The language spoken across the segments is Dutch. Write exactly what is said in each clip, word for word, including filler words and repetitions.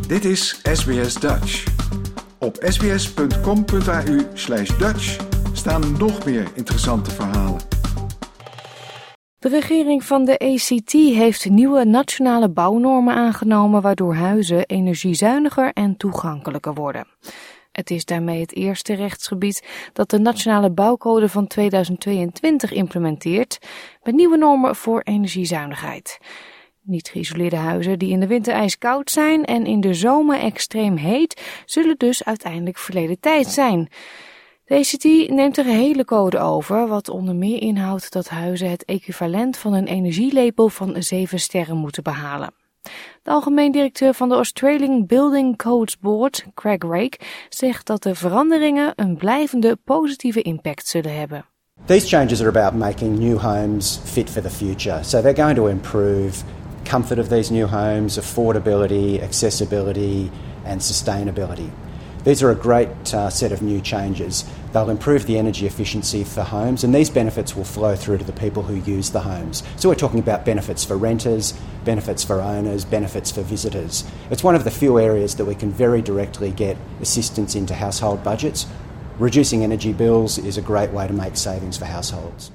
Dit is S B S Dutch. Op sbs.com.au slash Dutch staan nog meer interessante verhalen. De regering van de A C T heeft nieuwe nationale bouwnormen aangenomen waardoor huizen energiezuiniger en toegankelijker worden. Het is daarmee het eerste rechtsgebied dat de Nationale Bouwcode van tweeduizend tweeëntwintig implementeert met nieuwe normen voor energiezuinigheid. Niet geïsoleerde huizen die in de winter ijskoud zijn en in de zomer extreem heet, zullen dus uiteindelijk verleden tijd zijn. De A C T neemt de gehele code over, wat onder meer inhoudt dat huizen het equivalent van een energielabel van zeven sterren moeten behalen. De algemeen directeur van de Australian Building Codes Board, Craig Rake, zegt dat de veranderingen een blijvende positieve impact zullen hebben. These changes are about making new homes fit for the future. So they're going to improve comfort of these new homes, affordability, accessibility and sustainability. These are a great uh, set of new changes. They'll improve the energy efficiency for homes, and these benefits will flow through to the people who use the homes. So we're talking about benefits for renters, benefits for owners, benefits for visitors. It's one of the few areas that we can very directly get assistance into household budgets. Reducing energy bills is a great way to make savings for households.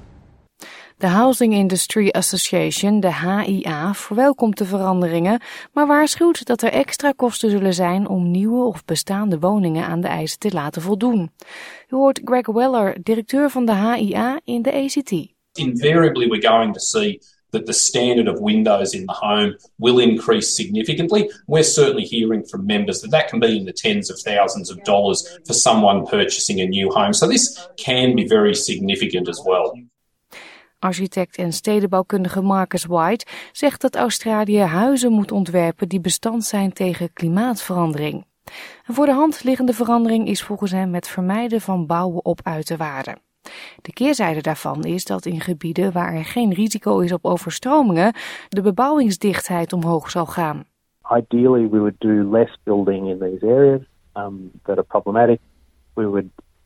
De Housing Industry Association, de H I A, verwelkomt de veranderingen, maar waarschuwt dat er extra kosten zullen zijn om nieuwe of bestaande woningen aan de eisen te laten voldoen. U hoort Greg Weller, directeur van de H I A in de A C T. Invariably we're going to see that the standard of windows in the home will increase significantly. We're certainly hearing from members that that can be in the tens of thousands of dollars for someone purchasing a new home. So this can be very significant as well. Architect en stedenbouwkundige Marcus White zegt dat Australië huizen moet ontwerpen die bestand zijn tegen klimaatverandering. Een voor de hand liggende verandering is volgens hem het vermijden van bouwen op uiterwaarden. De keerzijde daarvan is dat in gebieden waar er geen risico is op overstromingen de bebouwingsdichtheid omhoog zal gaan. Ideally we would do less building in these areas um, that are problematic. We would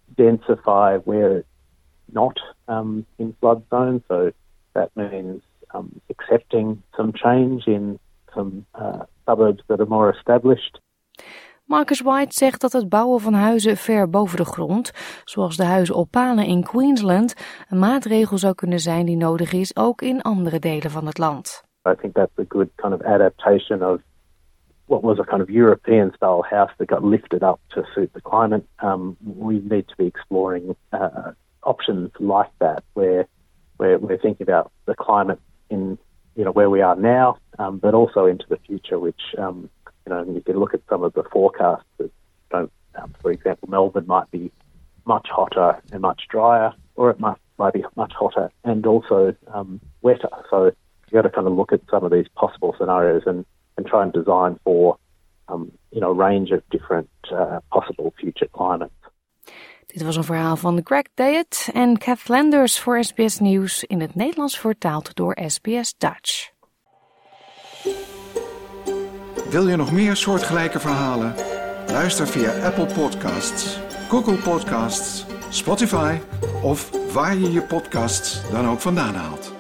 densify where it's not um, in flood zones, so that means um, accepting some change in some uh, suburbs that are more established. Marcus White zegt dat het bouwen van huizen ver boven de grond, zoals de huizen op palen in Queensland, een maatregel zou kunnen zijn die nodig is ook in andere delen van het land. I think that's a good kind of adaptation of what was a kind of European style house that got lifted up to suit the climate. Um, we need to be exploring uh, options like that, where where we're thinking about the climate in you know where we are now, um, but also into the future. Which um, you know you can look at some of the forecasts. That don't, um, for example, Melbourne might be much hotter and much drier, or it might might be much hotter and also um, wetter. So you got to kind of look at some of these possible scenarios and and try and design for um, you know a range of different uh, possible future climates. Dit was een verhaal van Greg Dayet en Kath Landers voor S B S Nieuws in het Nederlands vertaald door S B S Dutch. Wil je nog meer soortgelijke verhalen? Luister via Apple Podcasts, Google Podcasts, Spotify of waar je je podcasts dan ook vandaan haalt.